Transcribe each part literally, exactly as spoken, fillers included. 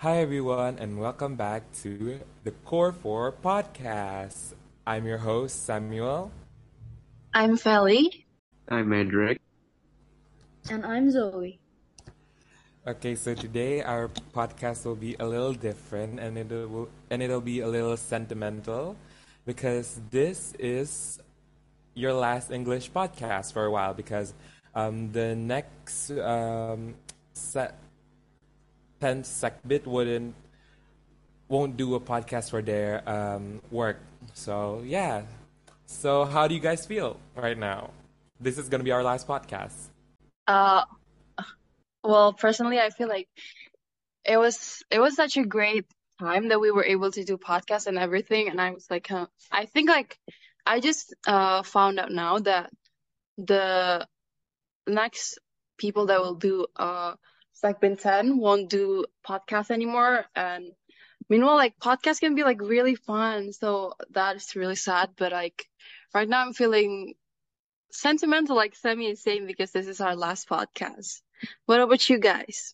Hi, everyone, and welcome back to the Core four podcast. I'm your host, Samuel. I'm Felly. I'm Edric. And I'm Zoe. Okay, so today our podcast will be a little different, and it will and it'll be a little sentimental, because this is your last English podcast for a while. Because um, the next um, set tenth Secbit wouldn't won't do a podcast for their um, work. So yeah. So how do you guys feel right now? This is gonna be our last podcast. Uh, well, personally, I feel like it was it was such a great time that we were able to do podcasts and everything, and I was like, huh, I think like I just uh found out now that the next people that will do uh segment ten won't do podcasts anymore, and meanwhile, like podcasts can be like really fun, so that is really sad. But like right now, I'm feeling sentimental, like Semi is saying, because this is our last podcast. What about you guys?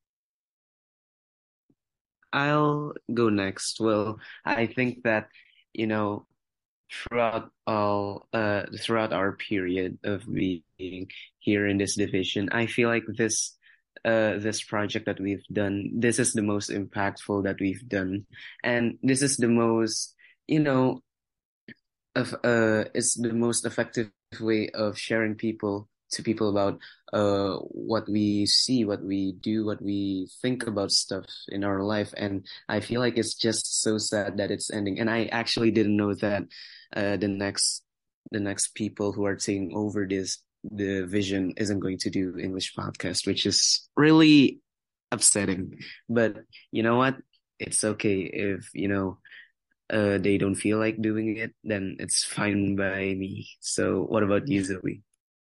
I'll go next. Well, I think that, you know, throughout all uh throughout our period of being here in this division, I feel like this uh this project that we've done, this is the most impactful that we've done. And this is the most, you know, of uh it's the most effective way of sharing people to people about uh what we see, what we do, what we think about stuff in our life. And I feel like it's just so sad that it's ending. And I actually didn't know that uh the next the next people who are taking over this the vision isn't going to do English podcast, which is really upsetting. But you know what? It's okay if, you know, uh, they don't feel like doing it, then it's fine by me. So what about you, Zoe?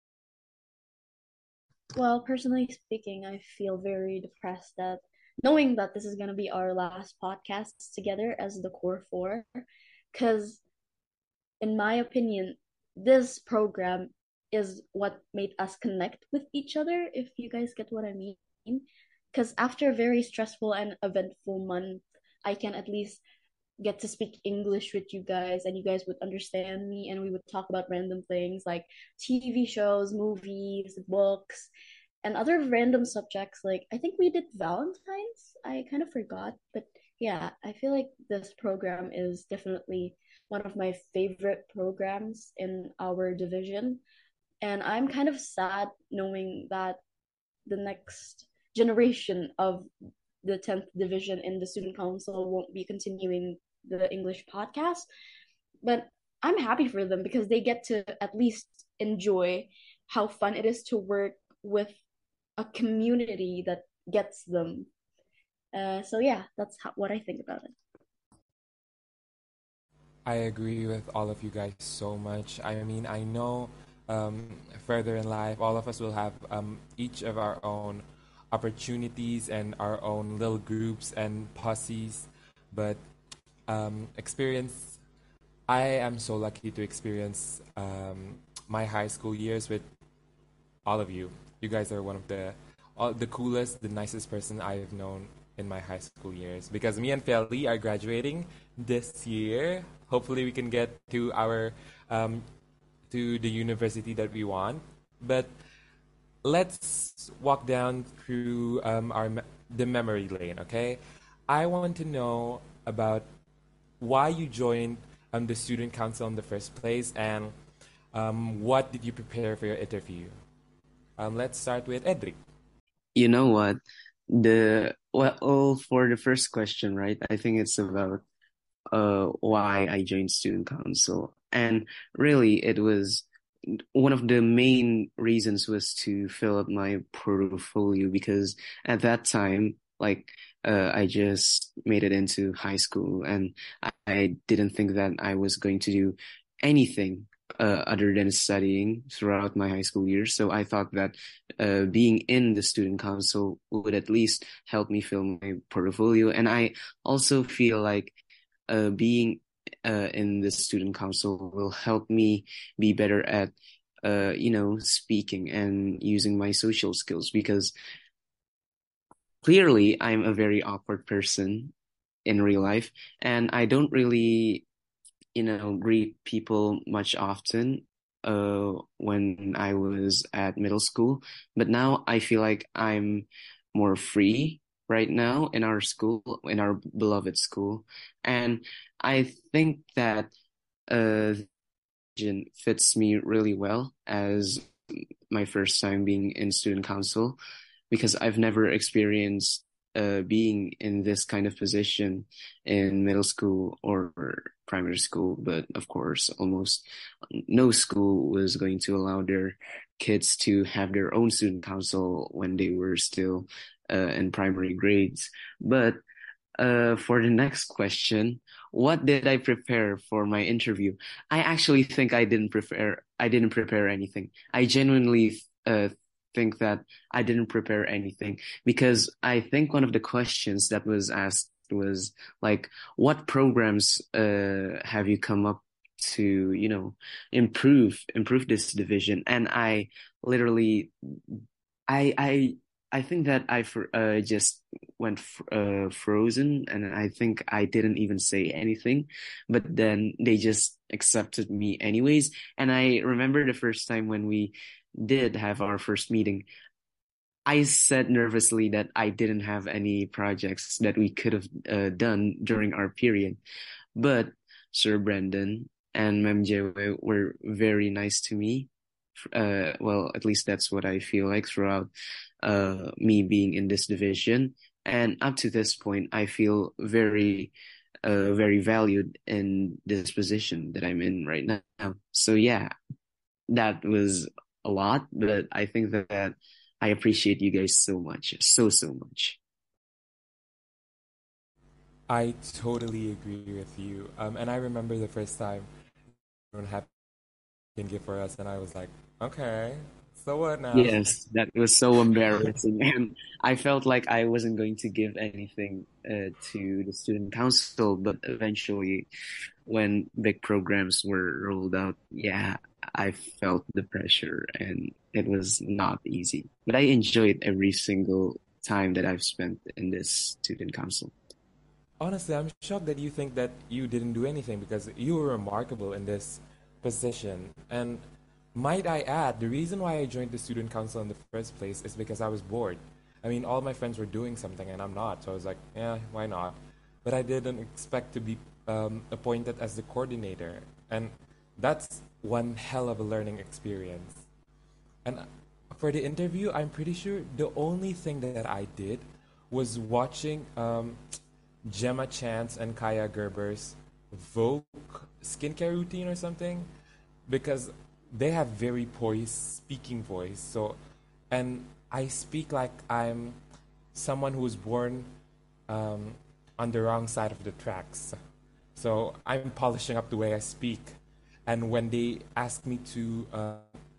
Well, personally speaking, I feel very depressed that knowing that this is going to be our last podcast together as the Core Four, because in my opinion, this program is what made us connect with each other, if you guys get what I mean. Because after a very stressful and eventful month, I can at least get to speak English with you guys and you guys would understand me and we would talk about random things like T V shows, movies, books, and other random subjects. Like I think we did Valentine's. I kind of forgot, but yeah, I feel like this program is definitely one of my favorite programs in our division. And I'm kind of sad knowing that the next generation of the tenth division in the student council won't be continuing the English podcast. But I'm happy for them because they get to at least enjoy how fun it is to work with a community that gets them. Uh, so yeah, that's how, what I think about it. I agree with all of you guys so much. I mean, I know um, further in life, all of us will have um, each of our own opportunities and our own little groups and posses, but um, experience. I am so lucky to experience um, my high school years with all of you. You guys are one of the all, the coolest, the nicest person I've known in my high school years. Because me and Felly are graduating this year. Hopefully, we can get to our um, to the university that we want. But let's walk down through um, our me- the memory lane. Okay, I want to know about why you joined um, the student council in the first place, and um, what did you prepare for your interview? Um, let's start with Edric. You know what? The well, for the first question, right? I think it's about uh why I joined student council. And really it was one of the main reasons was to fill up my portfolio because at that time, like uh, I just made it into high school and I, I didn't think that I was going to do anything uh, other than studying throughout my high school years. So I thought that uh, being in the student council would at least help me fill my portfolio. And I also feel like uh, being uh, in the student council will help me be better at uh, you know, speaking and using my social skills because clearly I'm a very awkward person in real life, and I don't really, you know, greet people much often uh when I was at middle school. But now I feel like I'm more free right now in our school, in our beloved school. And I think that uh vision fits me really well as my first time being in student council, because I've never experienced uh, being in this kind of position in middle school or primary school. But of course, almost no school was going to allow their kids to have their own student council when they were still uh, in primary grades. But uh, for the next question, what did I prepare for my interview? I actually think I didn't prepare. I didn't prepare anything. I genuinely uh, think that I didn't prepare anything, because I think one of the questions that was asked was like, "What programs uh, have you come up to, you know, improve improve this division?" And I literally, I I I think that I fr- uh, just went fr uh, frozen, and I think I didn't even say anything, but then they just accepted me anyways. And I remember the first time when we did have our first meeting, I said nervously that I didn't have any projects that we could have uh, done during our period, but Sir Brendan and Ma'am Jewe were very nice to me. Uh, well, at least that's what I feel like throughout uh, me being in this division. And up to this point, I feel very, uh, very valued in this position that I'm in right now. So yeah, that was a lot, but I think that I appreciate you guys so much, so, so much. I totally agree with you. Um, and I remember the first time everyone had a gift for us, and I was like, okay, so what now? Yes, that was so embarrassing. And I felt like I wasn't going to give anything uh, to the student council, but eventually, when big programs were rolled out, yeah, I felt the pressure and it was not easy. But I enjoyed every single time that I've spent in this student council. Honestly, I'm shocked that you think that you didn't do anything because you were remarkable in this position. And might I add, the reason why I joined the student council in the first place is because I was bored. I mean, all my friends were doing something and I'm not, so I was like, yeah, why not? But I didn't expect to be um, appointed as the coordinator, and that's one hell of a learning experience. And for the interview, I'm pretty sure the only thing that I did was watching um, Gemma Chance and Kaya Gerber's Vogue skincare routine or something, because they have very poised speaking voice. So, and I speak like I'm someone who was born um, on the wrong side of the tracks. So I'm polishing up the way I speak. And when they ask me to uh,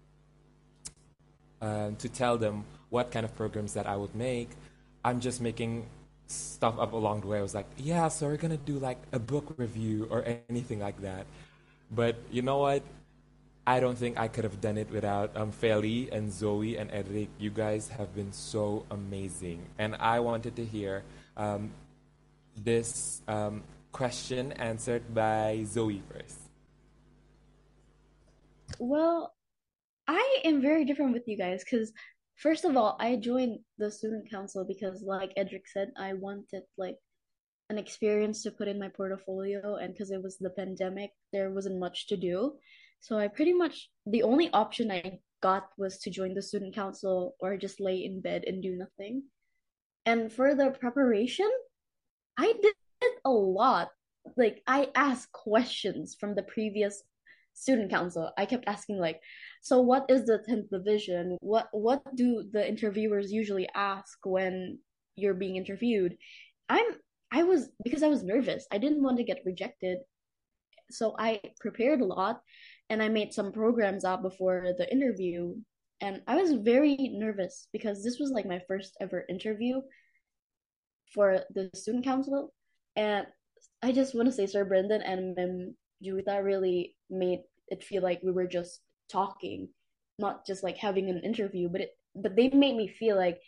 uh, to tell them what kind of programs that I would make, I'm just making stuff up along the way. I was like, yeah, so we're gonna do like a book review or anything like that. But you know what? I don't think I could have done it without um, Feli and Zoe and Eric. You guys have been so amazing. And I wanted to hear um, this um, question answered by Zoe first. Well, I am very different with you guys because first of all, I joined the student council because like Edric said, I wanted like an experience to put in my portfolio, and because it was the pandemic, there wasn't much to do. So I pretty much the only option I got was to join the student council or just lay in bed and do nothing. And for the preparation, I did a lot. Like I asked questions from the previous student council. I kept asking like, so what is the tenth division? What what do the interviewers usually ask when you're being interviewed? I'm I was because I was nervous. I didn't want to get rejected. So I prepared a lot and I made some programs out before the interview. And I was very nervous because this was like my first ever interview for the student council. And I just want to say Sir Brendan and Mem Juwita really made it feel like we were just talking, not just like having an interview, but it but they made me feel like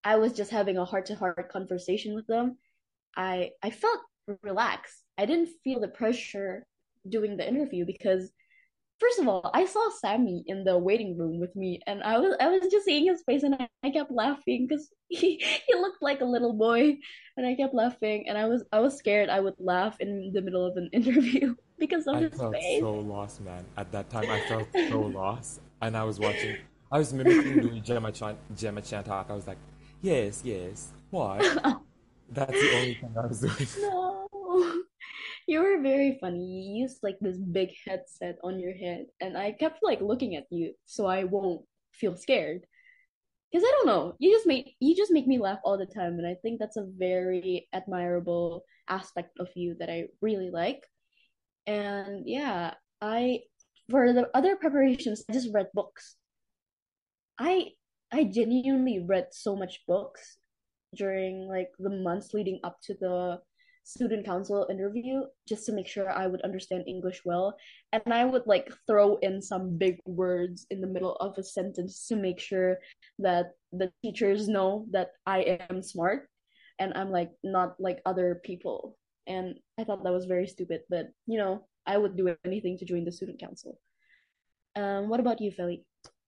I was just having a heart-to-heart conversation with them, I I felt relaxed. I didn't feel the pressure doing the interview because first of all, I saw Sammy in the waiting room with me, and I was I was just seeing his face, and I, I kept laughing because he he looked like a little boy, and I kept laughing, and I was I was scared I would laugh in the middle of an interview because of I his felt face. so lost, man. At that time, I felt so lost, and I was watching. I was mimicking doing Gemma Chan, Gemma Chan talk. I was like, "Yes, yes. What?" That's the only thing I was doing. No, you were very funny. You used like this big headset on your head, and I kept like looking at you so I won't feel scared. Because I don't know, you just make you just make me laugh all the time, and I think that's a very admirable aspect of you that I really like. And yeah, I for the other preparations, I just read books. I I genuinely read so much books during like the months leading up to the student council interview just to make sure I would understand English well. And I would like throw in some big words in the middle of a sentence to make sure that the teachers know that I am smart and I'm like not like other people. And I thought that was very stupid, but you know, I would do anything to join the student council. Um, what about you, Feli?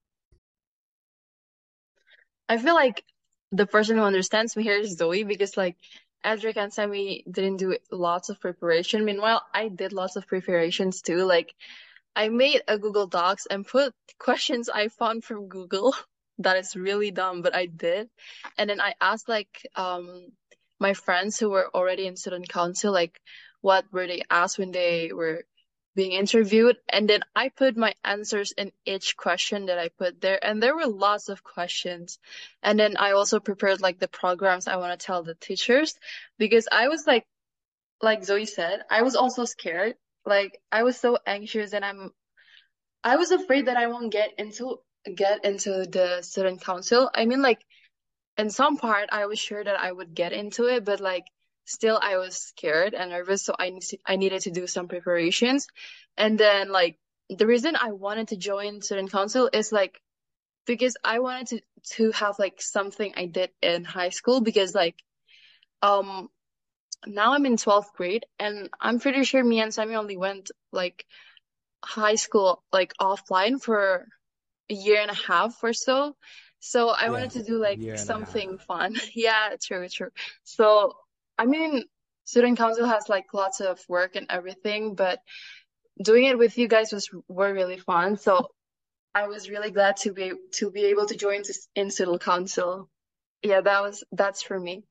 I feel like the person who understands me here is Zoe because like Edric and Sammy didn't do lots of preparation. Meanwhile, I did lots of preparations too. Like I made a Google Docs and put questions I found from Google. That is really dumb, but I did. And then I asked like um my friends who were already in student council, like what were they asked when they were being interviewed. And then I put my answers in each question that I put there. And there were lots of questions. And then I also prepared like the programs I want to tell the teachers because I was like, like Zoe said, I was also scared. Like I was so anxious and I'm I was afraid that I won't get into get into the student council. I mean, like in some part, I was sure that I would get into it, but like still, I was scared and nervous, so I ne- I needed to do some preparations. And then like the reason I wanted to join student council is like because I wanted to to have like something I did in high school because like um now I'm in twelfth grade and I'm pretty sure me and Sammy only went like high school like offline for a year and a half or so. So I wanted to Yes, do like year and a half. something fun. Yeah, true, true. So I mean, student council has like lots of work and everything, but doing it with you guys was were really fun. So I was really glad to be to be able to join this in student council. Yeah, that was that's for me.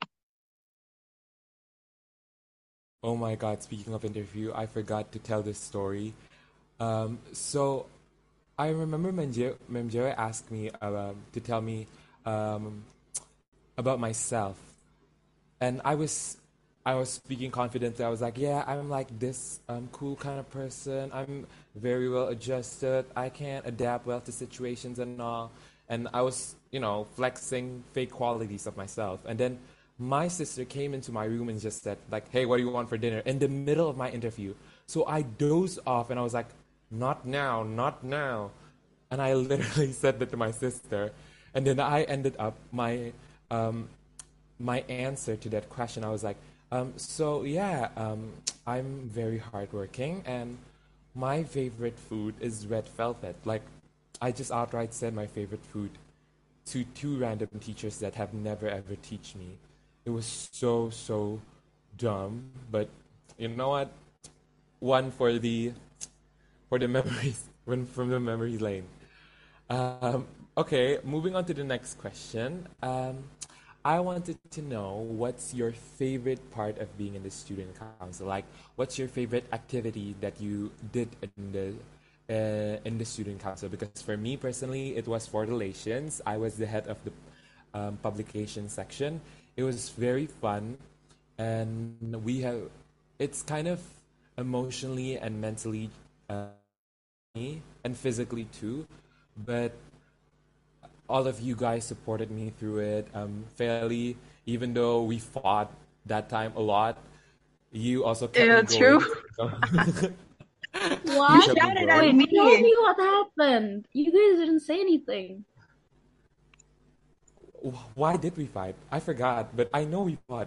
Oh my God, speaking of interview, I forgot to tell this story. Um, so I remember Memjero Memjero asked me um, to tell me um, about myself, and I was I was speaking confidently. I was like, yeah, I'm like this um, cool kind of person. I'm very well adjusted. I can adapt well to situations and all. And I was, you know, flexing fake qualities of myself. And then my sister came into my room and just said, like, hey, what do you want for dinner? In the middle of my interview. So I dozed off and I was like, not now, not now. And I literally said that to my sister. And then I ended up my um, my answer to that question. I was like, um, so yeah, um, I'm very hardworking, and my favorite food is red velvet. Like, I just outright said my favorite food to two random teachers that have never ever teach me. It was so so dumb, but you know what? One for the for the memories one from the memory lane. Um, okay, moving on to the next question. Um, I wanted to know what's your favorite part of being in the student council? Like, what's your favorite activity that you did in the uh, in the student council? Because for me personally, it was for relations. I was the head of the um, publication section. It was very fun, and we have. It's kind of emotionally and mentally, uh, me and physically too, but all of you guys supported me through it um, fairly, even though we fought that time a lot. You also kept Yeah, me true. going. So you What? You kept me shouted at Wait, going. me. tell me what happened. You guys didn't say anything. wh- why did we fight? I forgot, but I know we fought.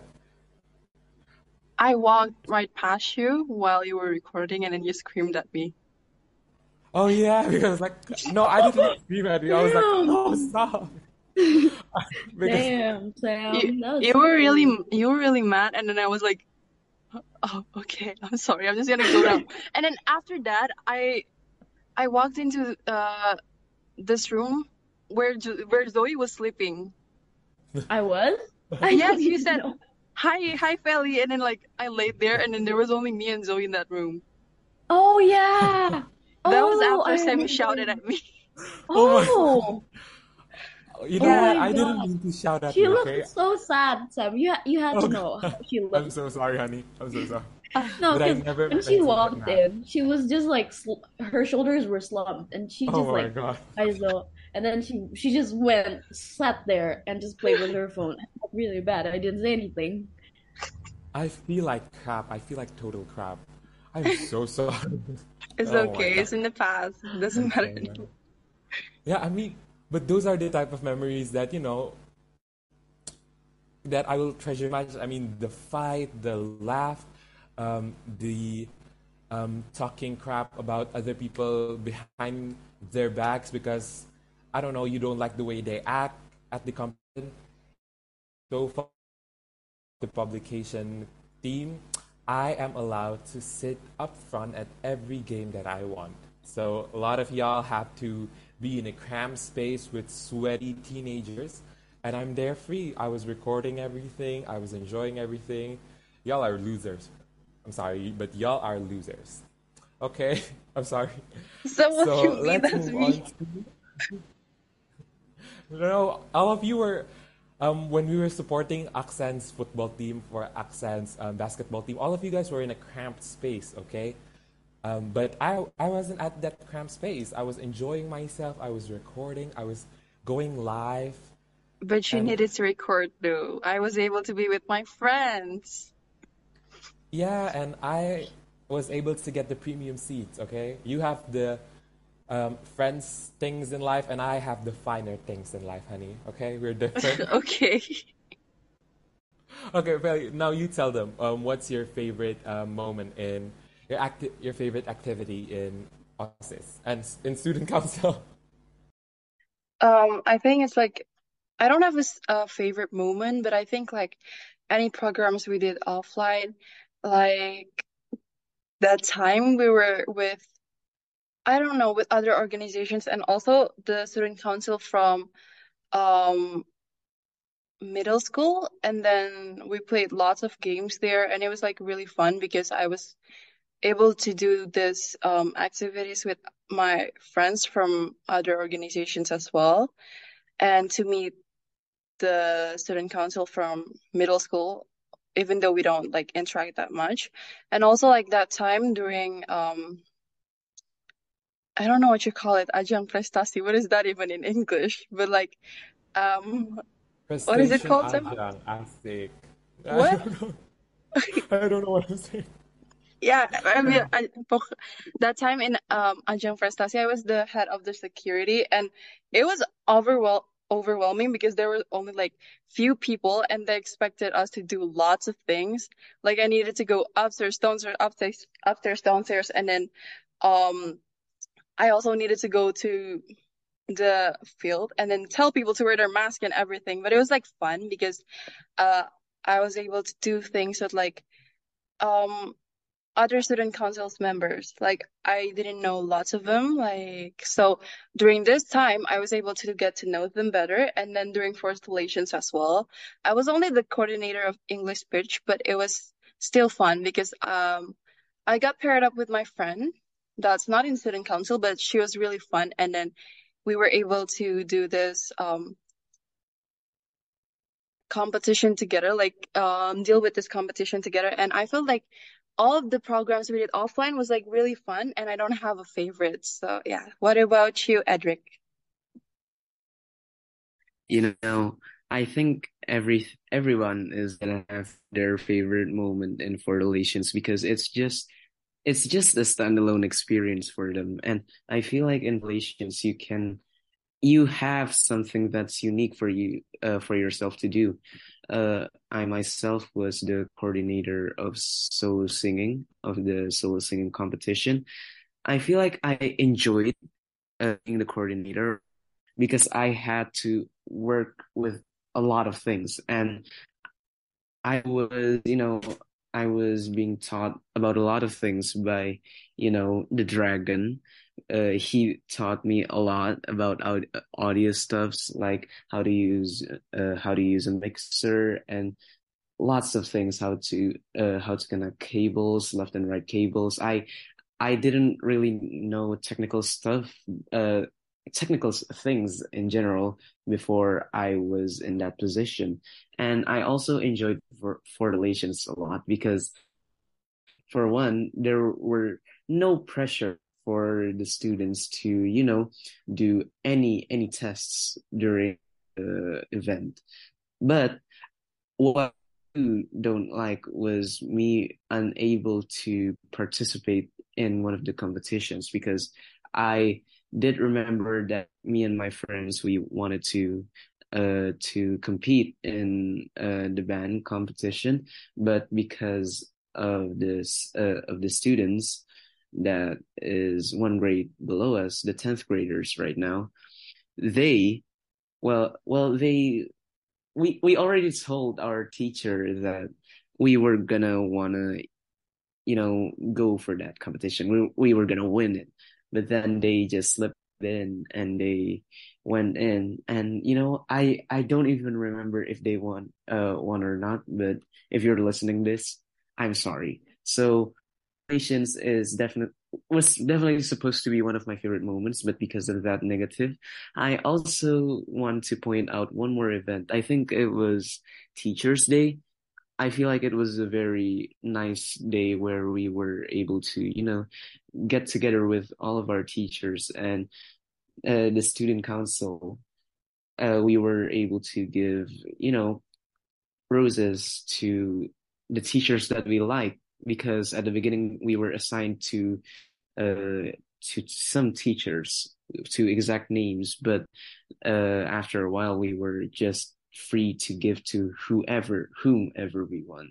I walked right past you while you were recording, and then you screamed at me. Oh yeah, because like no, I didn't scream at you. I was like, Damn. no, stop. Because Damn, You Sam. That was you so were really rude. you were really mad, and then I was like, oh, okay, I'm sorry, I'm just gonna go now. And then after that, I I walked into uh this room where Jo- where Zoe was sleeping. I was? I Yes, don't you even said know. hi, hi, Feli, and then like I laid there, and then there was only me and Zoe in that room. Oh yeah. That was Oh, after I Sammy remember. shouted at me. oh my God. Oh, You know oh Yeah, what? my I didn't God. mean to shout at She you, looked okay? so sad, Sam. You ha you had Oh to know God. how she I'm looked. so sorry, honey. I'm so sorry. No, But I because never when she meant to get walked mad. in, she was just like sl her shoulders were slumped, and she Oh just my like God. eyes low, and then she she just went sat there and just played with her phone. I felt really bad. I didn't say anything. I feel like crap. I feel like total crap. I'm so sorry. it's Oh my okay. God. It's in the past. It I'm doesn't matter so sorry. anymore. Yeah, I mean, but those are the type of memories that, you know, that I will treasure much. I mean, the fight, the laugh, um, the um, talking crap about other people behind their backs because I don't know, you don't like the way they act at the competition. So far, the publication team, I am allowed to sit up front at every game that I want. So a lot of y'all have to be in a cramped space with sweaty teenagers, and I'm there free. I was recording everything, I was enjoying everything. Y'all are losers. I'm sorry, but y'all are losers. Okay, I'm sorry. So what So you mean? let's That's move on me. to no, all of you were, um, when we were supporting Aksan's football team for Aksan's um, basketball team, all of you guys were in a cramped space, okay? Um, but I, I wasn't at that cramped space. I was enjoying myself. I was recording. I was going live. But you And needed to record though. I was able to be with my friends. yeah, and I was able to get the premium seats, okay? You have the um, friends things in life, and I have the finer things in life, honey, okay? We're different. Okay. Okay, well, now you tell them. Um, what's your favorite um, moment in your acti- your favorite activity in office and s- in student council? Um, I think it's like I don't have a, s- a favorite moment, but I think like any programs we did offline, like that time we were with, I don't know, with other organizations and also the student council from um middle school, and then we played lots of games there, and it was like really fun because I was able to do this um activities with my friends from other organizations as well, and to meet the student council from middle school, even though we don't like interact that much. And also like that time during um I don't know what you call it, ajang prestasi. What is that even in English? But like um what is it Prestation called, Sam? Ajang, Asik. I What? don't know. I don't know what I'm saying. Yeah, I mean, I, pok- that time in um Ajang Prestasi, I was the head of the security, and it was overwhel overwhelming because there were only like few people, and they expected us to do lots of things. Like I needed to go upstairs, downstairs, upstairs, upstairs, downstairs, and then um I also needed to go to the field and then tell people to wear their mask and everything. But it was like fun because uh I was able to do things with like um other student councils members. Like I didn't know lots of them. Like so during this time I was able to get to know them better. And then during forced relations as well. I was only the coordinator of English speech, but it was still fun because um I got paired up with my friend that's not in student council, but she was really fun. And then we were able to do this um competition together, like um deal with this competition together. And I felt like all of the programs we did offline was like really fun, and I don't have a favorite. So yeah. What about you, Edric? You know, I think every everyone is gonna have their favorite moment in for relations because it's just it's just a standalone experience for them. And I feel like in relations you can you have something that's unique for you, uh, for yourself to do. Uh, I myself was the coordinator of solo singing, of the solo singing competition. I feel like I enjoyed uh, being the coordinator because I had to work with a lot of things, and I was, you know, I was being taught about a lot of things by, you know, the dragon. Uh, he taught me a lot about aud audio stuffs, like how to use, uh, how to use a mixer and lots of things, how to, uh, how to connect cables, left and right cables. I I didn't really know technical stuff, uh, technical s- things in general before I was in that position. And I also enjoyed for, for relations a lot because, for one, there were no pressure for the students to, you know, do any any tests during the event. But what I don't like was me unable to participate in one of the competitions because I did remember that me and my friends we wanted to uh to compete in uh the band competition, but because of this uh, of the students that is one grade below us, the tenth graders right now, they well well they we we already told our teacher that we were gonna wanna, you know, go for that competition. We we were gonna win it. But then they just slipped in and they went in. And you know, I I don't even remember if they won uh won or not, but if you're listening this, I'm sorry. So Patience is definitely was definitely supposed to be one of my favorite moments, but because of that negative, I also want to point out one more event. I think it was Teachers' Day. I feel like it was a very nice day where we were able to, you know, get together with all of our teachers and uh, the student council. Uh, we were able to give, you know, roses to the teachers that we like because at the beginning we were assigned to uh, to some teachers to exact names, but uh, after a while we were just free to give to whoever whomever we want.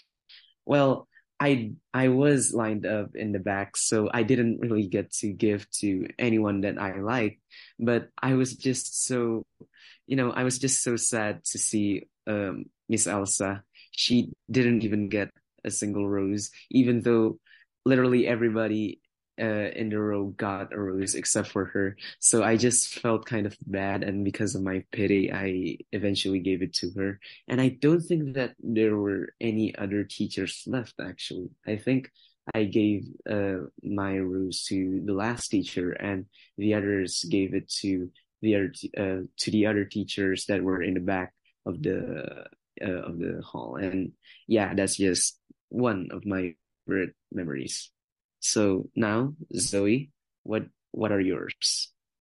Well, I I was lined up in the back, so I didn't really get to give to anyone that I liked, but I was just so, you know, I was just so sad to see um Miss Elsa. She didn't even get a single rose, even though literally everybody uh in the row got a rose except for her. So I just felt kind of bad, and because of my pity, I eventually gave it to her. And I don't think that there were any other teachers left, actually. I think I gave uh my rose to the last teacher, and the others gave it to the other t- uh, to the other teachers that were in the back of the uh, of the hall. And yeah, that's just one of my favorite memories. So now, Zoe, what what are yours?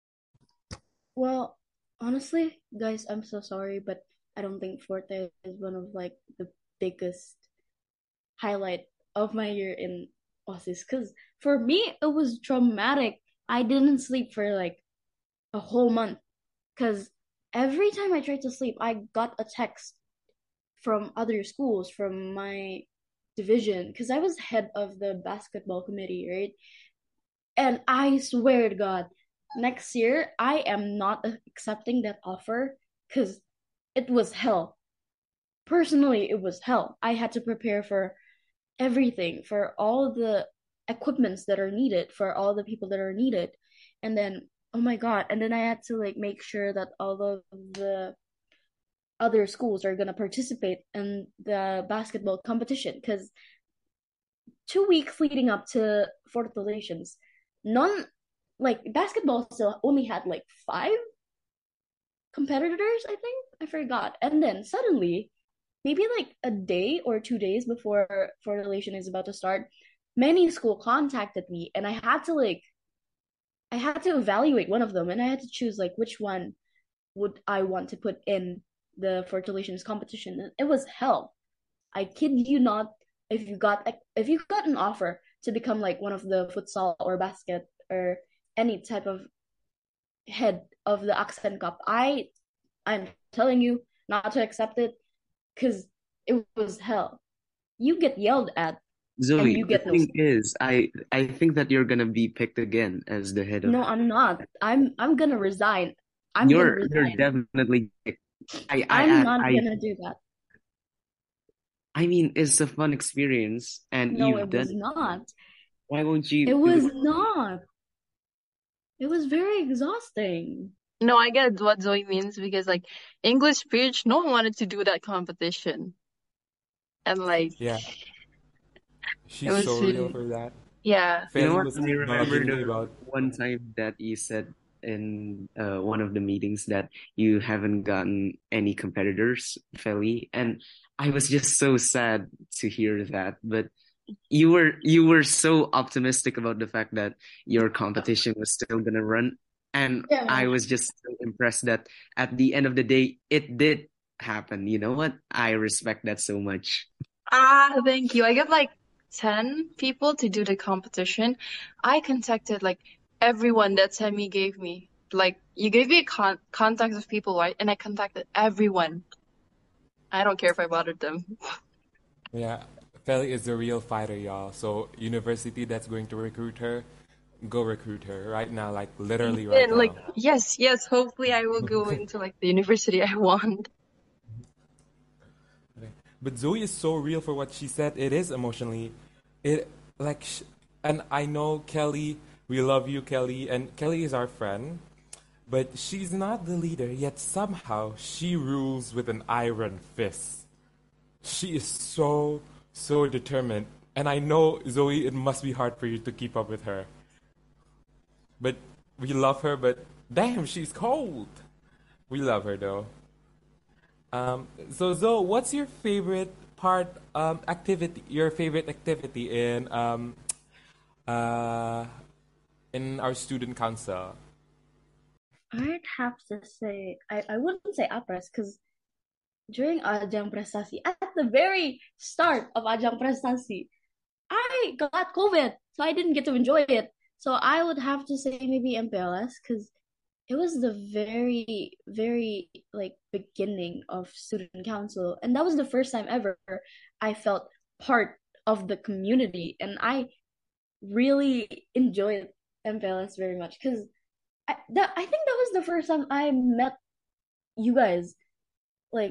Well, honestly, guys, I'm so sorry, but I don't think Forte is one of like the biggest highlight of my year in Aussies. Because for me, it was traumatic. I didn't sleep for like a whole month. Because every time I tried to sleep, I got a text from other schools, from my division, because I was head of the basketball committee, right? And I swear to God, next year I am not accepting that offer because it was hell. Personally, it was hell. I had to prepare for everything, for all the equipments that are needed, for all the people that are needed. And then, oh my God, and then I had to like make sure that all of the other schools are going to participate in the basketball competition because two weeks leading up to Fourth Relations, none like basketball still only had like five competitors, I think. I forgot. And then suddenly, maybe like a day or two days before Fourth Relation is about to start, many school contacted me and I had to like I had to evaluate one of them and I had to choose like which one would I want to put in the Fourth Relations competition. And it was hell. I kid you not. If you got if you got an offer to become like one of the futsal or basket or any type of head of the accent cup. I I'm telling you not to accept it because it was hell. You get yelled at and Zoe, you the get no thing say. is, I I think that you're gonna be picked again as the head of. No, I'm not. I'm I'm gonna resign. I'm gonna You're you're resign. definitely. I I I'm I not I gonna do that. I mean, it's a fun experience, and No, you've it done was it. not. Why won't It you do was it? not. It was very exhausting. No, I get what Zoe means because like English speech, no one wanted to do that competition. And like Yeah, it she's was so real really, for that. yeah. You know Feli what? was I remember bugging me the about. one time that you said in uh, one of the meetings that you haven't gotten any competitors, Feli, and I was just so sad to hear that. But you were you were so optimistic about the fact that your competition was still gonna run, and Yeah. I was just so impressed that at the end of the day it did happen. You know what? I respect that so much. Ah, thank you. I got like ten people to do the competition. I contacted like everyone that Sammy gave me. Like you gave me a con contact of people, right? And I contacted everyone. I don't care if I bothered them. Yeah, Feli is the real fighter, y'all. So university that's going to recruit her, go recruit her right now, like literally right And like, now. yes, yes, hopefully I will go into like the university I want. Okay. But Zoe is so real for what she said. It is emotionally, it like, sh- and I know Kelly. We love you, Kelly, and Kelly is our friend. But she's not the leader, yet somehow she rules with an iron fist. She is so, so determined. And I know, Zoe, it must be hard for you to keep up with her. But we love her, but damn, she's cold. We love her though. Um, so Zoe, what's your favorite part, um, activity, your favorite activity in, um, uh, in our student council? I'd have to say I, I wouldn't say apres because during Ajang Prestasi, at the very start of Ajang Prestasi, I got COVID, so I didn't get to enjoy it. So I would have to say maybe M P L S because it was the very, very like beginning of student council, and that was the first time ever I felt part of the community, and I really enjoyed M P L S very much because I that I think that was the first time I met you guys like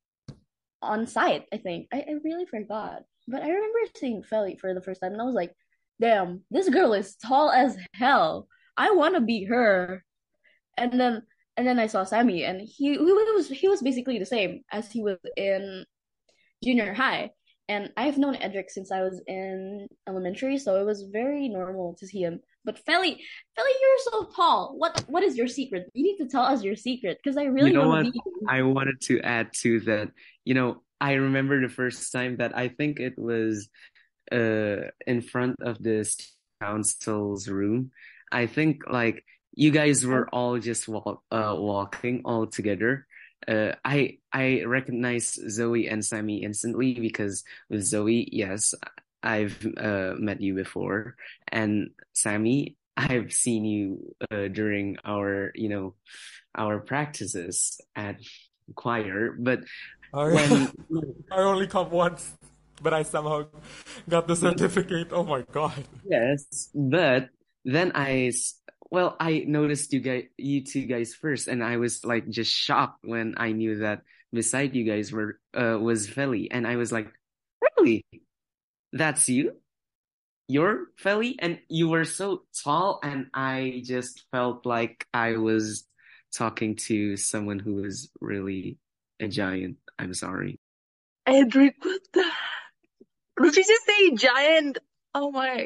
on site. I think I, I really forgot, but I remember seeing Feli for the first time, and I was like, "Damn, this girl is tall as hell. I want to be her." And then and then I saw Sammy, and he he was he was basically the same as he was in junior high. And I've known Edric since I was in elementary, so it was very normal to see him. But Feli, Feli, you're so tall. What what is your secret? You need to tell us your secret because I You really know want to what? be you. I wanted to add to that. You know, I remember the first time that I think it was uh in front of the student council's room. I think like you guys were all just walk uh walking all together. Uh, I I recognize Zoe and Sammy instantly because with Zoe, yes, I've uh met you before, and Sammy, I've seen you uh during our, you know, our practices at choir. But I, when I only come once, but I somehow got the certificate. Oh my god. yes, but then I, s- well, I noticed you guys, you two guys first, and I was like just shocked when I knew that beside you guys were uh was Feli, and I was like, really? That's you? You're Feli? And you were so tall, and I just felt like I was talking to someone who was really a giant. I'm sorry. Edric, what the? Did you just say giant? Oh my.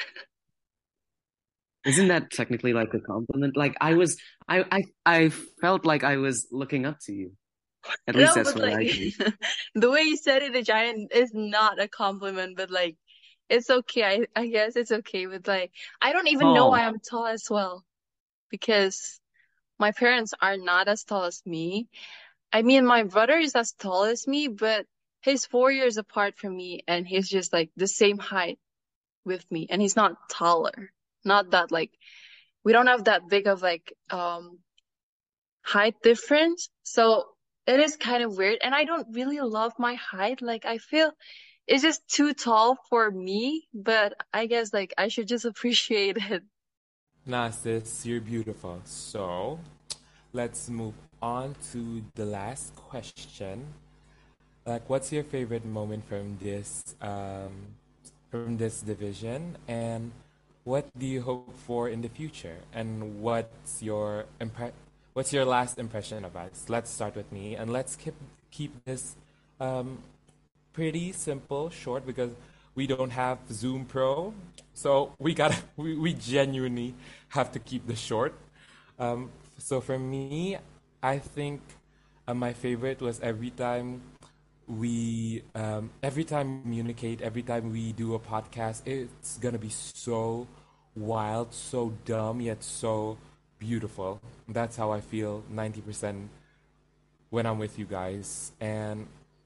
Isn't that technically like a compliment? Like I was, I, I, I felt like I was looking up to you. At least No, that's but what like I think. the way you said it, a giant is not a compliment, but like it's okay. I I guess it's okay. But like I don't even know why Tall. I'm tall as well because my parents are not as tall as me. I mean, my brother is as tall as me, but he's four years apart from me, and he's just like the same height with me, and he's not taller. Not that like we don't have that big of like um height difference. So it is kind of weird. And I don't really love my height. Like I feel it's just too tall for me, but I guess like I should just appreciate it. Nah, sis, you're beautiful. So let's move on to the last question. Like, what's your favorite moment from this um, from this division, and what do you hope for in the future? And what's your impre- what's your last impression of us? Let's start with me, and let's keep keep this um, pretty simple, short, because we don't have Zoom Pro, so we gotta we, we genuinely have to keep this short. Um, so for me, I think uh, my favorite was every time we um, every time we communicate, every time we do a podcast, it's gonna be so wild, so dumb, yet so beautiful. That's how I feel ninety percent when I'm with you guys. And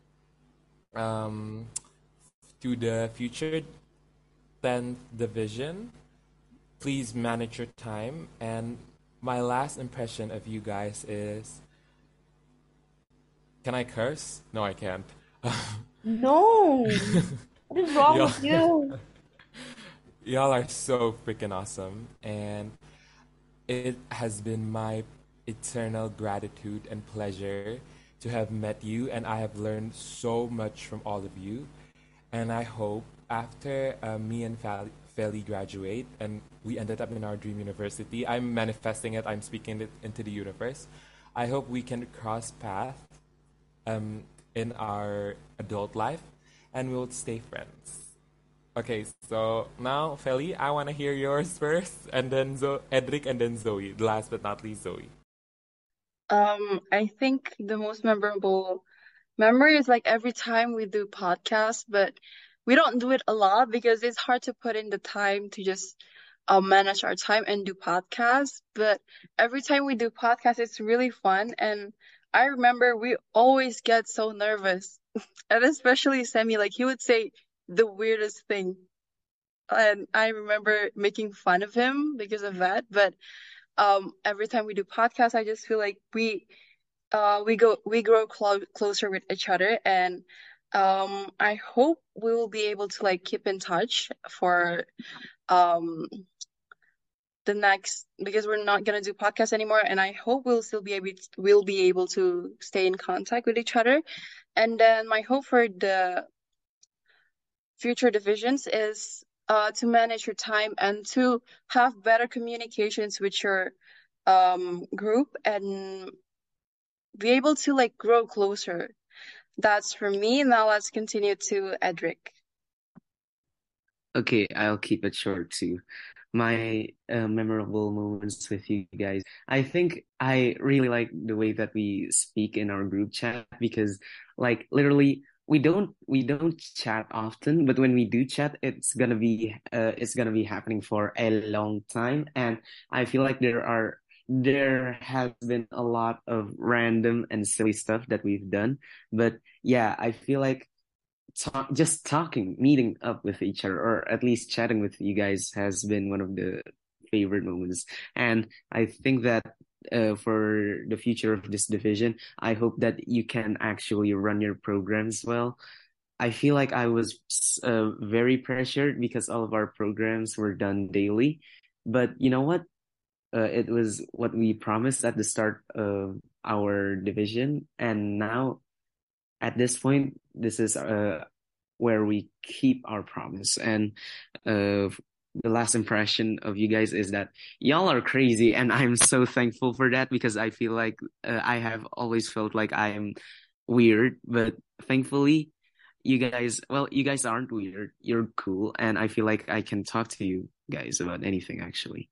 um, to the future tenth division, please manage your time. And my last impression of you guys is, can I curse? No, I can't. No, what is wrong y'all, with you? y'all are so freaking awesome. And it has been my eternal gratitude and pleasure to have met you. And I have learned so much from all of you. And I hope after uh, me and Fel- Feli graduate and we ended up in our dream university, I'm manifesting it, I'm speaking it into the universe. I hope we can cross paths um, in our adult life and we'll stay friends. Okay, so now, Feli, I want to hear yours first, and then Zo- Edric, and then Zoe. Last but not least, Zoe. Um, I think the most memorable memory is like every time we do podcasts, but we don't do it a lot because it's hard to put in the time to just uh, manage our time and do podcasts. But every time we do podcasts, it's really fun. And I remember we always get so nervous. And especially Semi, like he would say the weirdest thing. And I remember making fun of him because of that. But um, every time we do podcasts, I just feel like we uh we go we grow clo closer with each other, and um I hope we will be able to like keep in touch for um the next, because we're not gonna do podcasts anymore, and I hope we'll still be able we'll be able to stay in contact with each other. And then my hope for the future divisions is uh to manage your time and to have better communications with your um group and be able to like grow closer. That's for me. Now let's continue to Edric. Okay, I'll keep it short too. My uh, memorable moments with you guys. I think I really like the way that we speak in our group chat because like literally we don't we don't chat often, but when we do chat, it's gonna be uh, it's gonna be happening for a long time. And I feel like there are there has been a lot of random and silly stuff that we've done. But yeah, I feel like talk, just talking, meeting up with each other, or at least chatting with you guys has been one of the favorite moments. And I think that uh, for the future of this division, I hope that you can actually run your programs well. I feel like I was uh, very pressured because all of our programs were done daily. But you know what? Uh, it was what we promised at the start of our division. And now at this point, this is uh, where we keep our promise. And uh, the last impression of you guys is that y'all are crazy, and I'm so thankful for that because I feel like uh, I have always felt like I am weird, but thankfully, you guys, well, you guys aren't weird. You're cool, and I feel like I can talk to you guys about anything actually.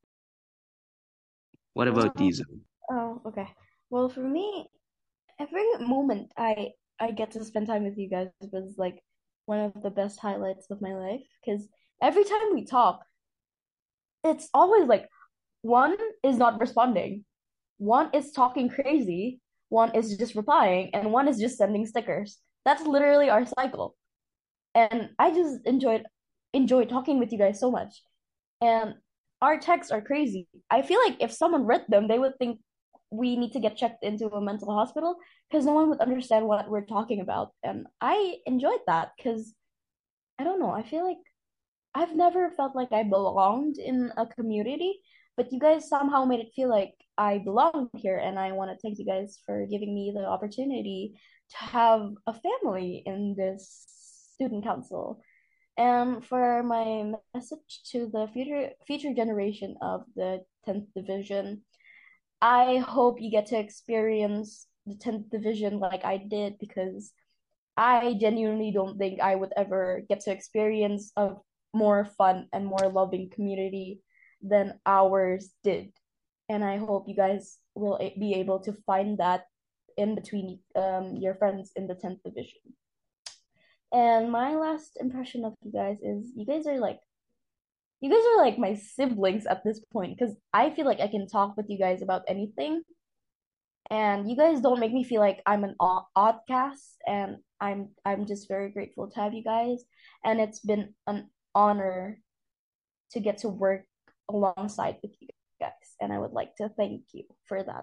What about Well, you, Zoe? oh, okay. Well, for me, every moment I I get to spend time with you guys was like one of the best highlights of my life because every time we talk, it's always like one is not responding, one is talking crazy, one is just replying, and one is just sending stickers. That's literally our cycle. And I just enjoyed enjoyed talking with you guys so much. And our texts are crazy. I feel like if someone read them, they would think we need to get checked into a mental hospital because no one would understand what we're talking about. And I enjoyed that because I don't know. I feel like I've never felt like I belonged in a community, but you guys somehow made it feel like I belong here, and I want to thank you guys for giving me the opportunity to have a family in this student council. And for my message to the future future generation of the tenth division, I hope you get to experience the tenth division like I did because I genuinely don't think I would ever get to experience a more fun and more loving community than ours did. And I hope you guys will a- be able to find that in between um, your friends in the tenth division. And my last impression of you guys is you guys are like you guys are like my siblings at this point because I feel like I can talk with you guys about anything, and you guys don't make me feel like I'm an odd oddcast, and I'm I'm just very grateful to have you guys, and it's been an honor to get to work alongside with you guys, and I would like to thank you for that.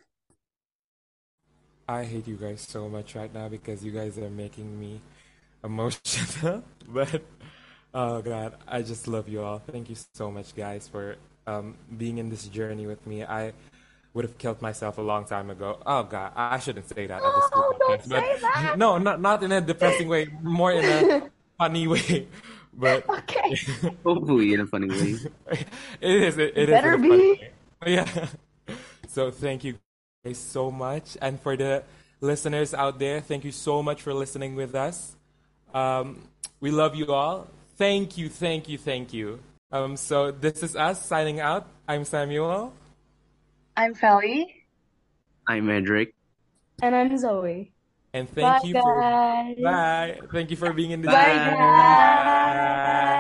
I hate you guys so much right now because you guys are making me emotional. But oh God, I just love you all. Thank you so much, guys, for um, being in this journey with me. I would have killed myself a long time ago. Oh God, I I shouldn't say that at the school No, don't podcast, but say that. no, not not in a depressing way, more in a funny way. But Okay, Hopefully in a funny way. it is it, it is in better a funny be. way. But yeah. So thank you guys so much, and for the listeners out there, thank you so much for listening with us. Um, we love you all. Thank you, thank you, thank you. Um, so this is us signing out. I'm Samuel, I'm Felly. I'm Edric. And I'm Zoe. and Bye, thank you for guys. bye. Thank you for being in this Bye, journey. guys. Bye.